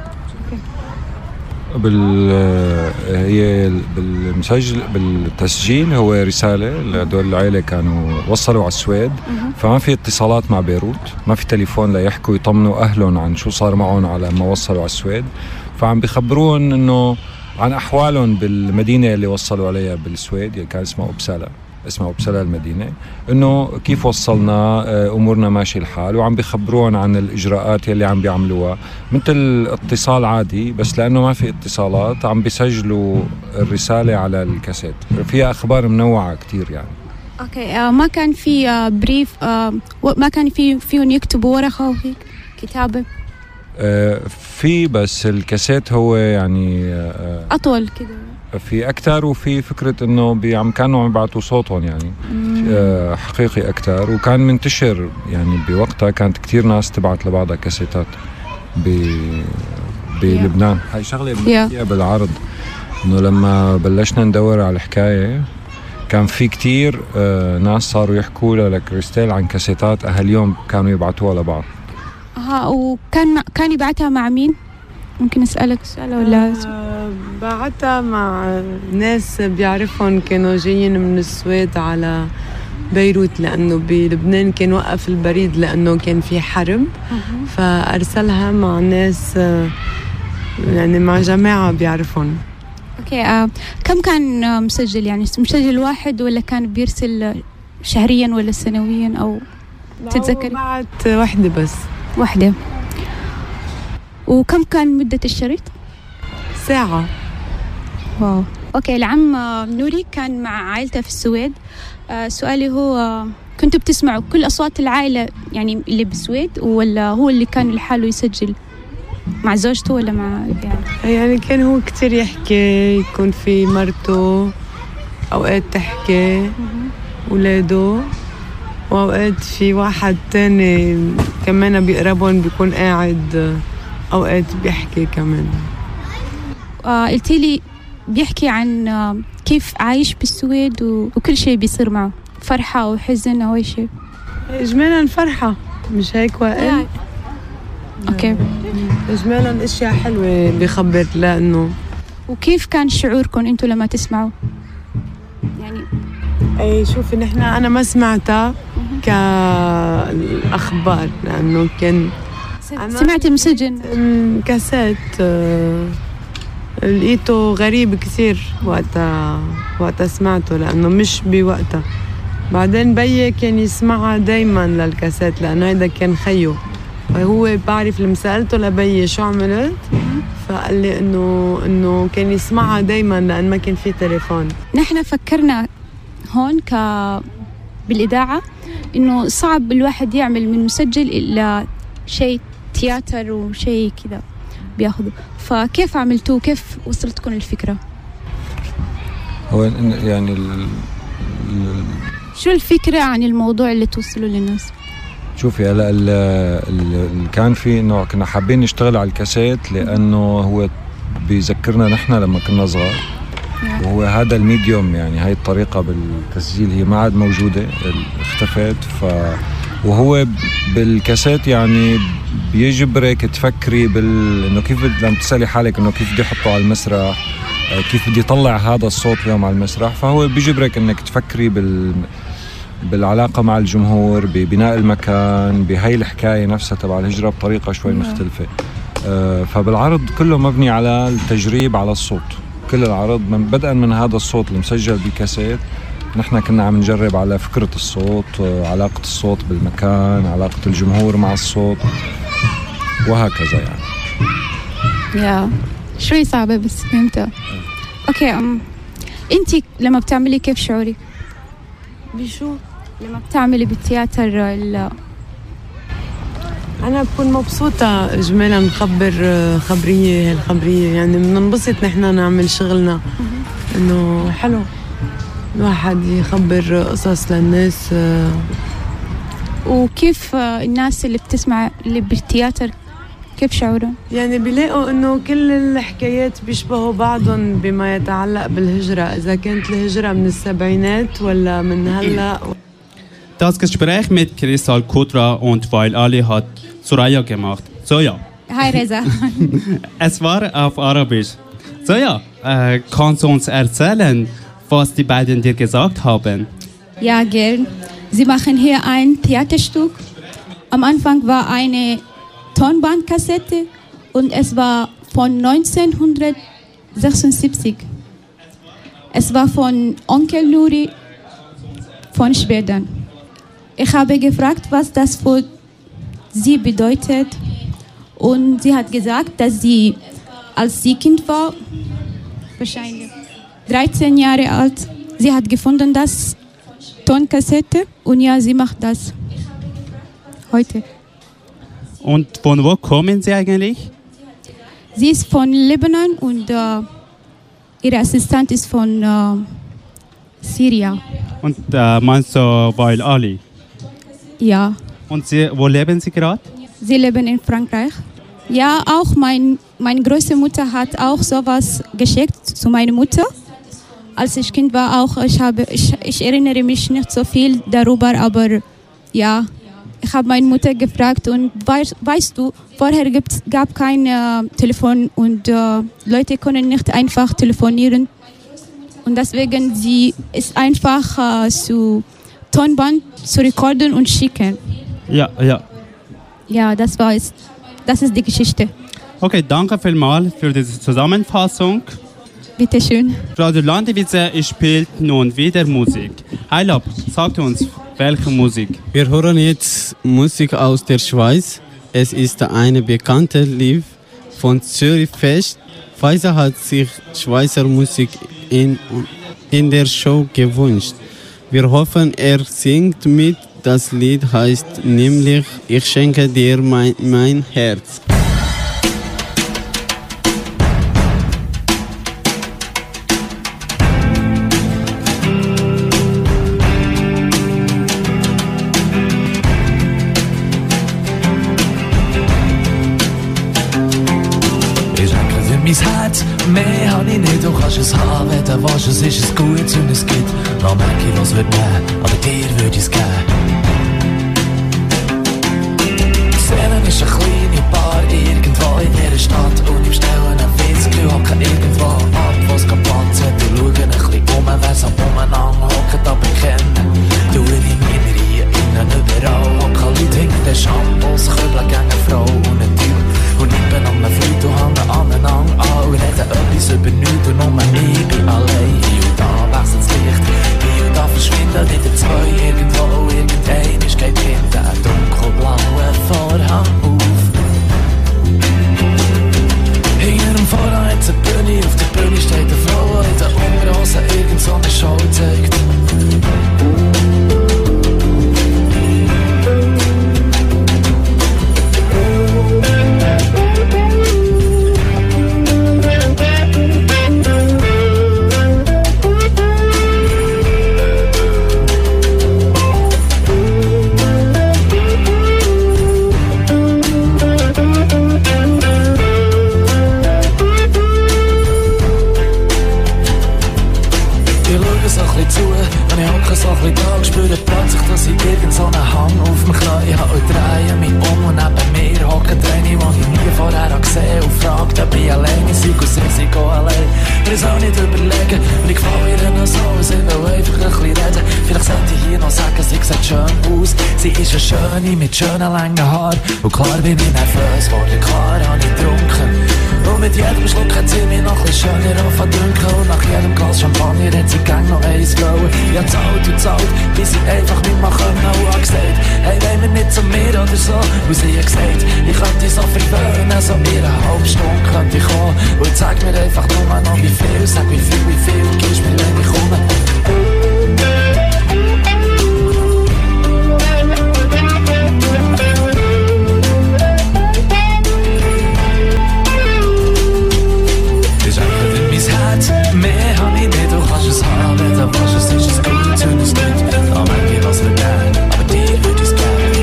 Speaker 22: بال هي بالمسجل بالتسجيل هو رسالة لهدول العائلة كانوا وصلوا على السويد، فما في اتصالات مع بيروت، ما في تليفون ليحكوا يطمنوا أهلهم عن شو صار معهم على ما وصلوا على السويد. فعم بيخبرون إنه عن أحوالهم بالمدينة اللي وصلوا عليها بالسويد، اللي كان اسمها أوبسالا، اسمها أوبسالا المدينة، إنه كيف وصلنا، أمورنا ماشي الحال، وعم بيخبرون عن الإجراءات اللي عم بيعملوها مثل اتصال عادي، بس لأنه ما في اتصالات عم بيسجلوا الرسالة على الكاسيت. فيها أخبار منوعة كتير يعني.
Speaker 4: أوكي. آه ما كان في آه بريف، آه ما كان في فيهم يكتبوا ورقة وهيك كتابة؟
Speaker 22: آه في، بس الكاسيت هو يعني آه
Speaker 4: أطول كده،
Speaker 22: في أكتر، وفي فكرة إنه عم كانوا عم يبعتوا صوتهم يعني آه حقيقي أكتر، وكان منتشر يعني بوقتها كانت كتير ناس تبعت لبعضها كاسيتات بلبنان. yeah. هاي شغلة بنحكيها yeah. بالعرض، إنه لما بلشنا ندور على الحكاية كان في كتير آه ناس صاروا يحكوا لكريستال عن كاسيتات أهاليهم كانوا يبعتوها لبعض.
Speaker 4: أها. وكان كان يبعتها مع مين؟ ممكن أسألك سؤال ولا؟
Speaker 21: آه بعتها مع ناس بيعرفهم كانوا جايين من السويد على بيروت، لأنه بلبنان كان وقف البريد لأنه كان في حرب. فأرسلها مع ناس يعني مع جماعة بيعرفهم.
Speaker 4: أوكي. آه كم كان آه مسجل؟ يعني مسجل واحد ولا كان بيرسل شهريا ولا سنويا أو تتذكري؟
Speaker 21: بعت واحدة بس.
Speaker 4: واحدة. وكم كان مدة الشريط؟
Speaker 21: ساعة.
Speaker 4: واو. أوكي. العم نوري كان مع عائلته في السويد. آه سؤالي هو، كنتوا بتسمعوا كل أصوات العائلة يعني اللي بالسويد، ولا هو اللي كان لحاله يسجل مع زوجته ولا مع يعني؟
Speaker 21: يعني كان هو كتير يحكي، يكون في مرته أوقات تحكي، ولاده، وأوقات في واحد تاني كمان بيقربون بيكون قاعد أوقات بيحكي كمان.
Speaker 4: آه قلتي لي بيحكي عن آه كيف عايش بالسويد وكل شيء بيصير معه، فرحة أو حزن أو أي شيء؟
Speaker 21: إجمالا فرحة، مش هيك وائل؟
Speaker 4: أوكي.
Speaker 21: إجمالا أشياء حلوة بيخبر لأنه.
Speaker 4: وكيف كان شعوركم أنتوا لما تسمعوا؟ يعني
Speaker 21: أي شوفي، نحن أنا ما سمعتها كالأخبار لأنه كان
Speaker 4: سمعت المسجل
Speaker 21: كاسيت. آه لقيته غريب كثير وقتها وقتها سمعته، لأنه مش بوقتها. بعدين بيي كان يسمعها دايما للكاسيت لأنه هيدا كان خيه، وهو بعرف لما سألته لبيي شو عملت فقال لي إنه إنه كان يسمعها دايما لأن ما كان في تليفون.
Speaker 4: نحن فكرنا هون ك بالإذاعة إنه صعب الواحد يعمل من مسجل إلا شيء تياتر وشيء كذا بياخده، فكيف عملتوه؟ كيف وصلتكم الفكرة؟
Speaker 22: هو يعني ال... ال...
Speaker 4: شو الفكرة عن الموضوع اللي توصلوا للناس؟
Speaker 22: شوفي هلا اللي كان في انه كنا حابين نشتغل على الكاسيت لانه هو بيذكرنا نحن لما كنا صغار، وهو هذا الميديوم يعني هاي الطريقة بالتسجيل هي ما عاد موجودة، اختفت. ف وهو بالكاسيت يعني بيجبرك تفكري بال انه كيف لما تسألي حالك انه كيف بدي احطه على المسرح، كيف بدي اطلع هذا الصوت اليوم على المسرح، فهو بيجبرك انك تفكري بال بالعلاقة مع الجمهور، ببناء المكان، بهاي الحكاية نفسها تبع الهجرة بطريقة شوي مختلفة. آه، فبالعرض كله مبني على التجريب على الصوت. كل العرض من بدءا من هذا الصوت المسجل بكاسيت، نحن كنا عم نجرب على فكرة الصوت، آه، علاقة الصوت بالمكان، علاقة الجمهور مع الصوت وهكذا يعني.
Speaker 4: يا شوي صعبة بس فهمتها. اوكي ام انتي لما بتعملي كيف شعورك؟
Speaker 21: بشو؟
Speaker 4: لما بتعملي بالتياتر ال
Speaker 21: أنا بكون مبسوطة إجمالا نخبر خبرية هالخبرية، يعني بننبسط نحن نعمل شغلنا، إنه حلو الواحد يخبر قصص للناس.
Speaker 4: وكيف الناس اللي بتسمع اللي بالتياتر كيف شعورهم؟
Speaker 21: يعني بيلاقوا إنه كل الحكايات بيشبهوا بعضهم بما يتعلق بالهجرة، إذا كانت الهجرة من السبعينات ولا من هلأ.
Speaker 1: Das Gespräch mit Crystal Kudra und Wael Ali hat Soraya gemacht. Soja.
Speaker 4: Hi Reza.
Speaker 1: Es war auf Arabisch. Soja, äh, kannst du uns erzählen, was die beiden dir gesagt haben?
Speaker 4: Ja, gern. Sie machen hier ein Theaterstück. Am Anfang war eine Tonbandkassette und es war von neunzehnhundertsechsundsiebzig. Es war von Onkel Nuri von Schweden. Ich habe gefragt, was das für sie bedeutet, und sie hat gesagt, dass sie, als sie Kind war, wahrscheinlich dreizehn Jahre alt, sie hat gefunden das Tonkassette, und ja, sie macht das heute.
Speaker 1: Und von wo kommen Sie eigentlich?
Speaker 4: Sie ist von Libanon und äh, ihre Assistent ist von äh, Syrien.
Speaker 1: Und äh, meinst du Wael Ali?
Speaker 4: Ja.
Speaker 1: Und Sie, wo leben Sie gerade?
Speaker 4: Sie leben in Frankreich. Ja, auch mein, meine Großmutter hat auch sowas geschickt zu meiner Mutter. Als ich Kind war auch, ich, habe, ich, ich erinnere mich nicht so viel darüber, aber ja, ich habe meine Mutter gefragt, und weißt, weißt du, vorher gab es kein äh, Telefon und äh, Leute können nicht einfach telefonieren. Und deswegen sie ist einfach äh, zu Tonband zu rekorden und schicken.
Speaker 1: Ja, ja.
Speaker 4: Ja, das war es. Das ist die Geschichte.
Speaker 1: Okay, danke vielmals für diese Zusammenfassung.
Speaker 4: Bitte schön.
Speaker 1: Radio Landivise spielt nun wieder Musik. Heilab, sagt uns, welche Musik?
Speaker 2: Wir hören jetzt Musik aus der Schweiz. Es ist eine bekannte Lied von Zürich Fest. Faisal hat sich Schweizer Musik in, in der Show gewünscht. Wir hoffen, er singt mit. Das Lied heißt nämlich Ich schenke dir mein, mein Herz.
Speaker 5: Mein Herz, mehr hab ich nicht, du kannst es haben, wenn du willst, es ist es gut und es gibt noch mehr Kilos wird nehmen, aber dir würde ich es geben. Die Seele ist eine kleine Bar irgendwo in dieser Stadt und im Stellen ein Witzgefühl hocken irgendwo ab, wo es keinen Platz hat. Du schauen ein bisschen um, wer es am umeinander hockt, aber kennen. Du in die Minerie, innen überall hocken Leute hinter den Shampoos, Kübeln gegen eine Frau und ein Typ. Und ich bin an einem Freund und hängen aneinander an und reden etwas über nichts und nur ich bin allein. Hier und da wechselt das Licht, hier und da verschwindet wieder zwei irgendwo. Irgendeiner geht hinter einen dunkelblauen Vorhang auf. Hinter dem Vorhang hat es eine Bühne, auf der Bühne steht eine Frau, die in den Unterhosen irgend so eine Show zeigt. So ein bisschen da, spüre plötzlich, dass ich irgend so einen Hang auf mich Knie habe und drehe mich um und neben mir hocken eine, die ich nie vorher gesehen habe und fragt, ob ich alleine sei und sie sind allein. Wir es auch nicht überlegen und ich gefällt ihr noch so, sie will einfach ein bisschen reden. Vielleicht sollte ich hier noch sagen, sie sieht schön aus. Sie ist eine Schöne mit schönen langen Haaren. Und klar bin ich nervös worden, klar habe ich getrunken. Und mit jedem Schluck hat sie mich noch ein bisschen schöner verdünken. Und nach jedem Glas Champagner hat sie gang noch eins wollen. Ja, zahlt und zahlt, bis sie einfach nicht mehr können. Und hat gesagt, hey, wollen wir nicht zu mir oder so? Und sie hat gesagt, ich könnte so verwöhnen, so in einer halben Stunde könnte ich kommen. Und sag mir einfach nur noch wie viel, sag wie viel, wie viel, gibst mir, wenn ich komme. Mehr hab ich nicht, du kannst es haben, wenn du willst, es ist es gut und es geht. Da merk ich, was wir gern, aber dir würd ich's gern.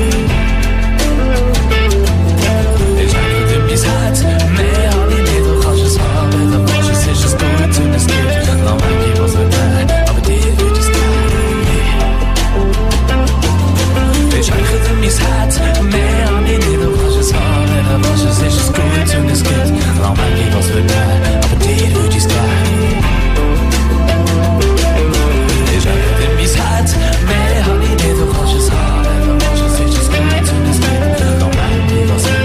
Speaker 5: Ich schenke dir mein Herz, mehr hab ich nicht, du kannst es haben, wenn du willst, es ist es gut und es geht. Da merk ich, was wir gern, aber dir würd ich's gern. Ich schenke dir mein Herz, mehr hab ich nicht, du kannst es haben, wenn du willst, es ist es gut und es geht. Da merk ich, was wir gern, aber dir würd ich's gern. Mehr hab ich nicht, du kannst es haben, wenn du willst, es ist es gut und es geht. Noch merk ich, was wir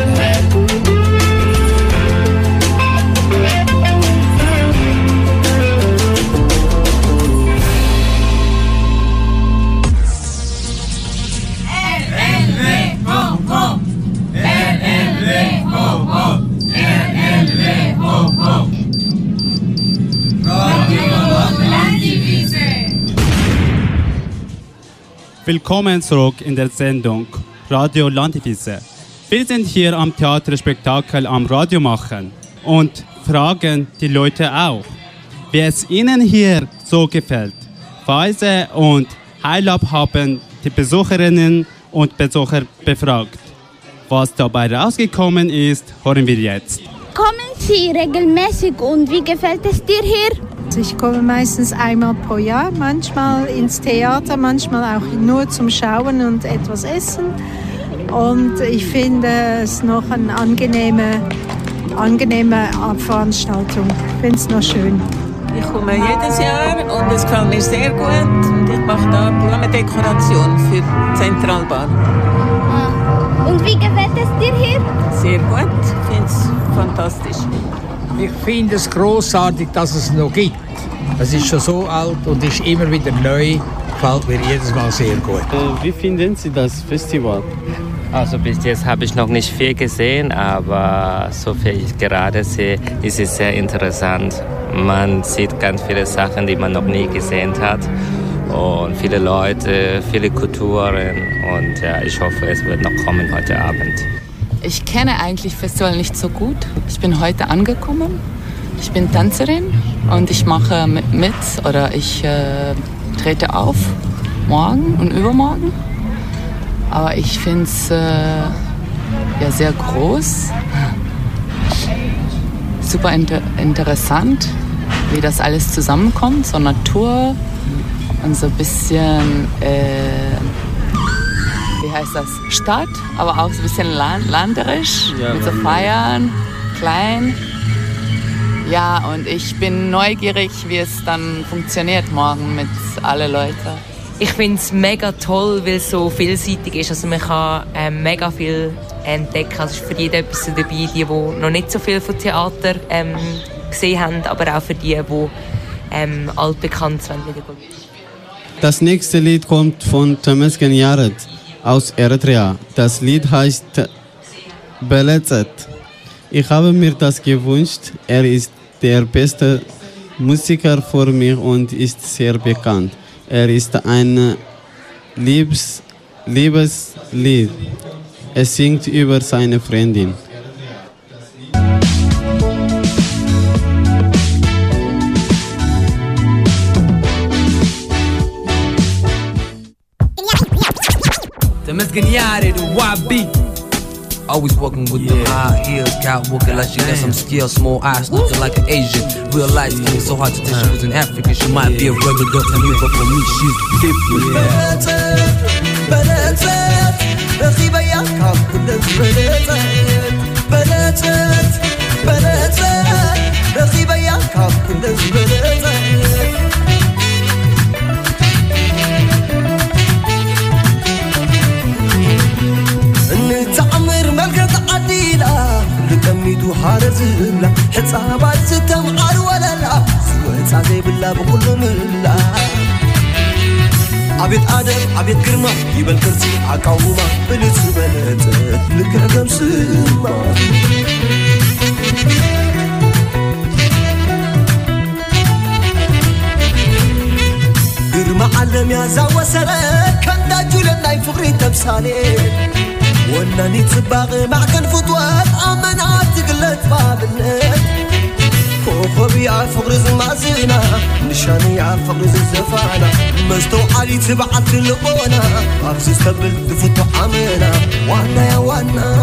Speaker 1: Willkommen zurück in der Sendung Radio Landivise. Wir sind hier am Theaterspektakel am Radio machen und fragen die Leute auch, wie es ihnen hier so gefällt. Weise und Heilab haben die Besucherinnen und Besucher befragt. Was dabei rausgekommen ist, hören wir jetzt.
Speaker 6: Kommen Sie regelmäßig und wie gefällt es dir hier?
Speaker 7: Ich komme meistens einmal pro Jahr, manchmal ins Theater, manchmal auch nur zum Schauen und etwas essen. Und ich finde es noch eine angenehme, angenehme Veranstaltung. Ich finde es noch schön.
Speaker 23: Ich komme jedes Jahr und es gefällt mir sehr gut. Und ich mache da Blumendekoration für die Zentralbahn.
Speaker 6: Und wie gefällt es dir hier?
Speaker 23: Sehr gut, ich finde es fantastisch.
Speaker 24: Ich finde es grossartig, dass es noch gibt. Es ist schon so alt und ist immer wieder neu. Gefällt mir jedes Mal sehr gut.
Speaker 2: Wie finden Sie das Festival?
Speaker 25: Also bis jetzt habe ich noch nicht viel gesehen, aber so viel ich gerade sehe, ist es sehr interessant. Man sieht ganz viele Sachen, die man noch nie gesehen hat. Und viele Leute, viele Kulturen. Und ja, ich hoffe, es wird noch kommen heute Abend.
Speaker 8: Ich kenne eigentlich Festival nicht so gut. Ich bin heute angekommen. Ich bin Tänzerin und ich mache mit oder ich äh, trete auf morgen und übermorgen. Aber ich finde es äh, ja, sehr groß, super inter- interessant, wie das alles zusammenkommt. So Natur und so ein bisschen... Äh, wie heißt das, Stadt, aber auch so ein bisschen land, landerisch, ja, mit so Feiern, klein. Ja, und ich bin neugierig, wie es dann funktioniert morgen mit allen Leuten.
Speaker 26: Ich finde es mega toll, weil es so vielseitig ist. Also man kann ähm, mega viel entdecken. Also ist für jeden etwas dabei, die, die noch nicht so viel von Theater ähm, gesehen haben, aber auch für die, die ähm, altbekannt sind.
Speaker 2: Das nächste Lied kommt von Temesgen Yared aus Eritrea. Das Lied heißt Belezet. Ich habe mir das gewünscht. Er ist der beste Musiker vor mir und ist sehr bekannt. Er ist ein Liebes, Liebeslied. Er singt über seine Freundin.
Speaker 27: Temesgen Yared, Y B. Always walking with yeah. the high heels, cat walking like she got some skills, small eyes, looking like an Asian. Real life skin, so hard to tell she was an African. She might yeah. be a regular to me, but for me she's different.
Speaker 9: عبيد آدم عبيد كرمة يبل كرسي عقاومة بلت بلت لك عقم سما كرمة علم يا زاوة سرك كان داجو لنا يفغري تمثالي وناني تباغي مع كان فتوات أمنات تقلت باب النت كوكب يعرف غرز المعزينة نشاني يعرف غرز الزفانة مستو علي تبعت اللقونة أبزي استقبل دفتو عمينة وانا يا وانا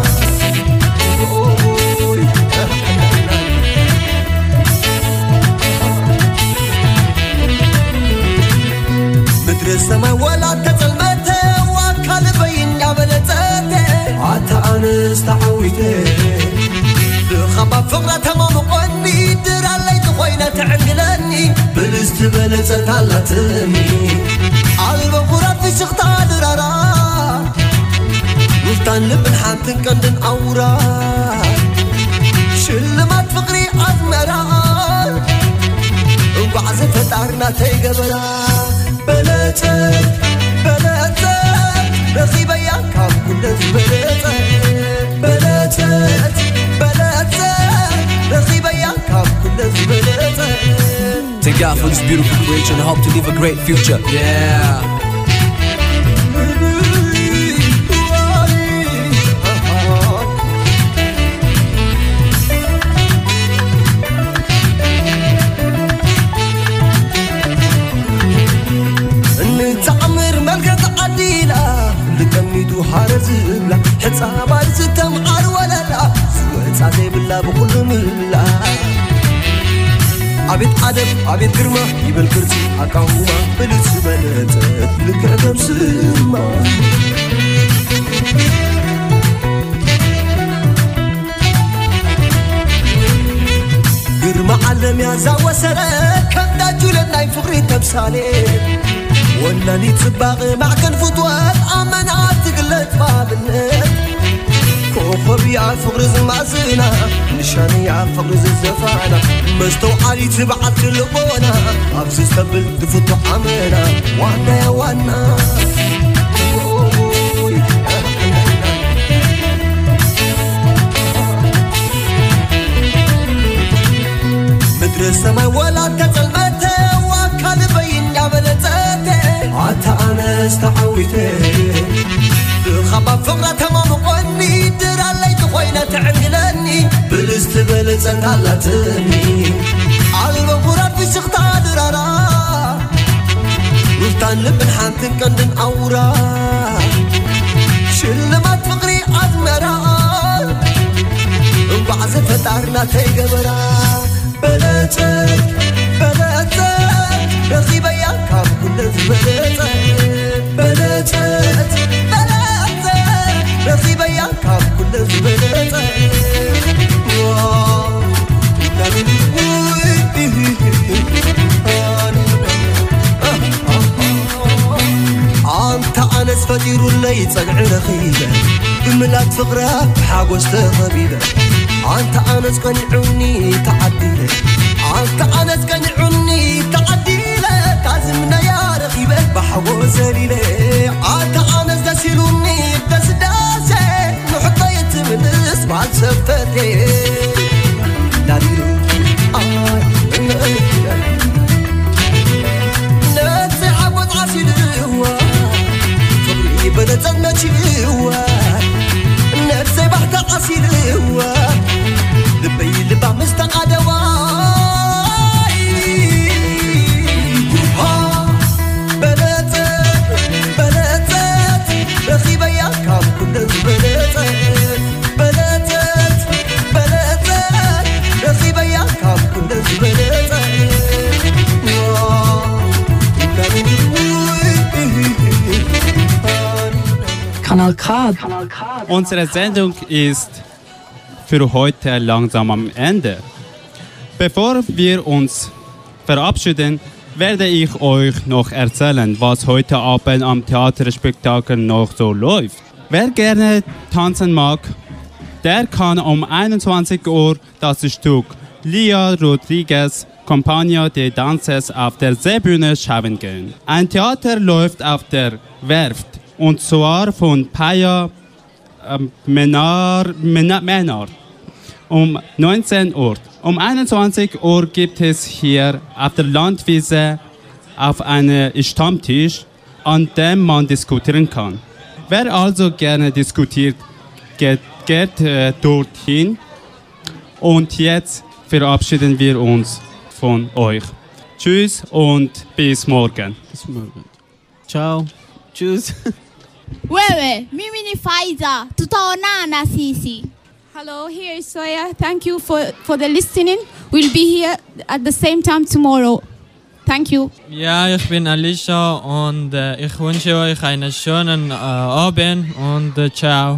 Speaker 9: مدر السماء ولا تتلمته وكال بين عملته عتا أنا استعويته خباب فقرة تمام قني در علي تخوينة تعقلني بلست بلست على تمي عالب غراب في شخطة درارا مفتان لبن حاتن كندن أورا شلمات فقري أزمرا وبعزة فتارنا تيقبرا بلتت بلتت رخيبا ياكام كلت بلتت بلتت
Speaker 27: Thank God for this beautiful creation. I hope to live a great future. Yeah.
Speaker 9: نتعمر ملكة عديلة لكميدو حارز بلا حتى بارز تمعر ولا لا سوى تعزي بالله بكل ملا عبيد آدم عبيد كرمة يبل كرسي عقاومة بلت بلتت لك عقم سما كرمة علم يا زاوة سرك كم داجو لنا يفغري تمثالي وناني تباغي مع كان فتوات أمنات تقلت باب النت كوكب يعرف غرز المعزينة نشاني يعرف غرز الزفانة مستو علي تبعت اللقونة أبزي استقبل دفتو عمينة وانا يا وانا مدر السماء ولا تتلمته وكان بين عملته عتا أنا استعويته خباب فقرة تمام قني در علي تخوينة تعقلني بلست بلست على تمي عالب غراب في شخطة درارا مفتان لبن حاتن كندن أورا شلمات فقري أزمرا وبعزة فتارنا تيقبرا بلتت بلتت رخيبا ياكام كلت بلتت بلتت رخيبا ياكام كلت بلتت أنت أنس فدير اللي يصنع رخيبة بملات فقرة بحاجوز تغبيبة أنت أنس قنعني تعديلة أنت أنس قنعني تعديلة تعزمنا يا رخيبة بحاجوز ليلة أنت أنس دسيلوني دس داسة نحطة يتم نسمع السفتة داريرو نفسي عبود عسيل هو فبري بدت المشي هو نفسي بحت عسيل هو لبي لبع مستقعد واي بلاتت بلاتت رخيبة يا كام كل بلاتت بلاتت بلاتت رخيبة يا كام كل بلاتت
Speaker 10: Kanal K.
Speaker 1: Unsere Sendung ist für heute langsam am Ende. Bevor wir uns verabschieden, werde ich euch noch erzählen, was heute Abend am Theaterspektakel noch so läuft. Wer gerne tanzen mag, der kann um einundzwanzig Uhr das Stück Lia Rodriguez Compagnie des Dances auf der Seebühne schauen gehen. Ein Theater läuft auf der Werft und zwar von Paya äh, Menard, Menard um neunzehn Uhr. Um einundzwanzig Uhr gibt es hier auf der Landwiese auf einen Stammtisch, an dem man diskutieren kann. Wer also gerne diskutiert, geht, geht äh, dorthin. Und jetzt verabschieden wir uns von euch. Tschüss und bis morgen.
Speaker 2: Bis morgen. Ciao. Tschüss.
Speaker 6: Wewe, mimi ni Faiza. Tutaonana sisi.
Speaker 4: Hello, here is Soya. Thank you for, for the listening. We'll be here at the same time tomorrow. Thank you.
Speaker 3: Ja, ich bin Alicia und äh, ich wünsche euch einen schönen äh, Abend und äh, ciao.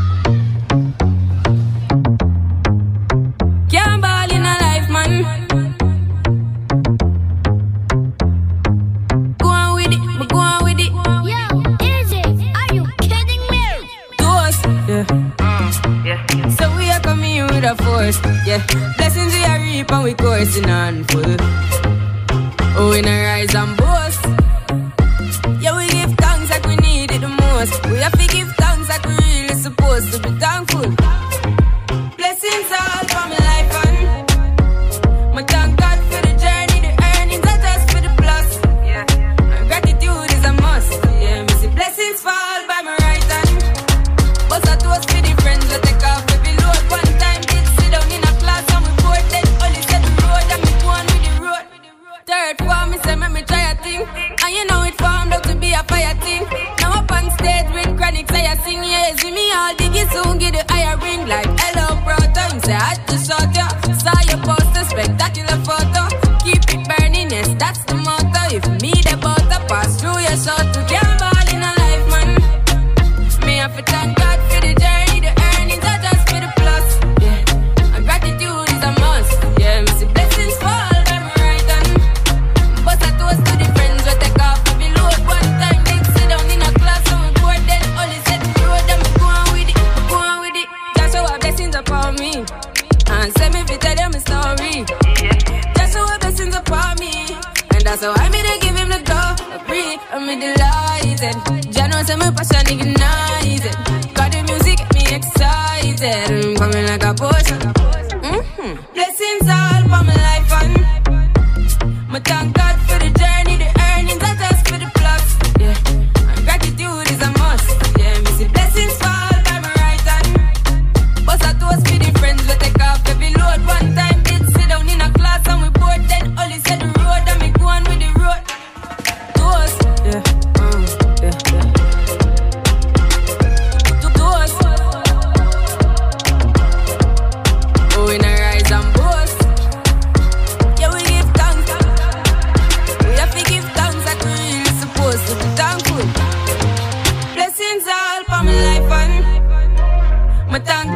Speaker 11: Can't ball in a life, man. Go on with it, but go on with it.
Speaker 6: Yo, Izzy, are you kidding me?
Speaker 11: Toast, yeah. Yeah. So we are coming in with a force, yeah. Blessings we are reap and we coursing on full. Oh, we not rise and boast. Yeah, we give thanks like we need it the most. We have to give thanks like we really supposed to be thankful. Blessings all for my life and my thank God for the journey, the earnings are just for the plus. Yeah, and gratitude is a must. Yeah, me see blessings fall by my right hand. But I toast for the friends that take off every load. One time did sit down in a class and we bored then only said the road and me go on with the road. Third form, me say make me try a thing, and you know it formed out to be a fire thing. Now up on stage with chronics, I sing, yeah, see me all diggy soon, get the higher ring like hello, brother. You say I had to shot ya, saw your poster, spectacular photo. Keep it burning, yes, that's the motto. If me the butter pass through your shot, to can't ball in a life, man. Me have to thank God for the journey, the earnings are just for the plus. Yeah, and gratitude is a must. Yeah, me see blessings fall. To the friends we take off every load. One time they sit down in a class and we bored then only said the road and we go on with it, we go on with it. Just show our blessings upon me and send me to tell them a story. Just show our blessings upon me and that's how I made to give him the glory. I'm delighted. Jah knows my passion ignited. Got the music get me excited. I'm coming like a potion. Mm-hmm. Blessings all for my life and my thank God for the journey, the earnings are just for the plus. Yeah, and gratitude is a must. Yeah, me see blessings fall by my right hand. But I toast for the friends we take off every load. One time did sit down in a class and we bored then only said the road and me go on with the road. Toast, yeah, um, yeah, yeah. Toast. Oh, we not rise and boast. Yeah, we give thanks. We have to give thanks like we really supposed to be thankful. Blessings all for my life and my thank